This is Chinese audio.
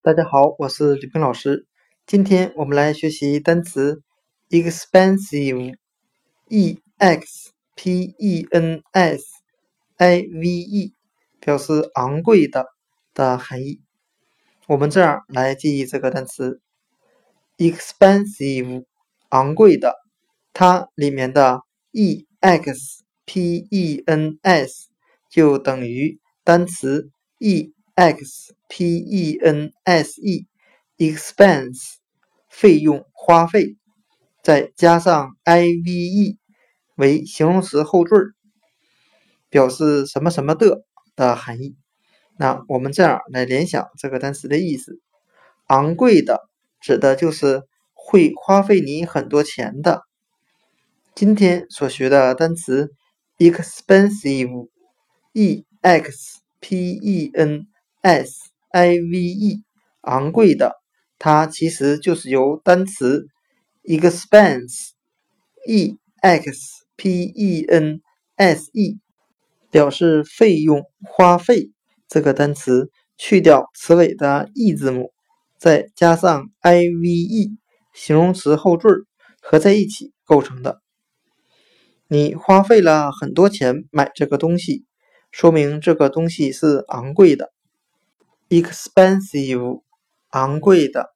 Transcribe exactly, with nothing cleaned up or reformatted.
大家好，我是吕冰老师。今天我们来学习单词 expensive，e x p e n s i v e， 表示昂贵的的含义。我们这样来记忆这个单词 expensive， 昂贵的，它里面的 e x p e n s 就等于单词 e x p e n s e expense 费用花费，再加上 i v e 为形容词后缀，表示什么什么的的含义。那我们这样来联想这个单词的意思，昂贵的指的就是会花费你很多钱的。今天所学的单词 expensive， e x p e n s i v e 昂贵的，它其实就是由单词 expense e x p e n s e 表示费用花费这个单词去掉词尾的 e 字母，再加上 i v e 形容词后缀合在一起构成的。你花费了很多钱买这个东西，说明这个东西是昂贵的。expensive 昂贵的。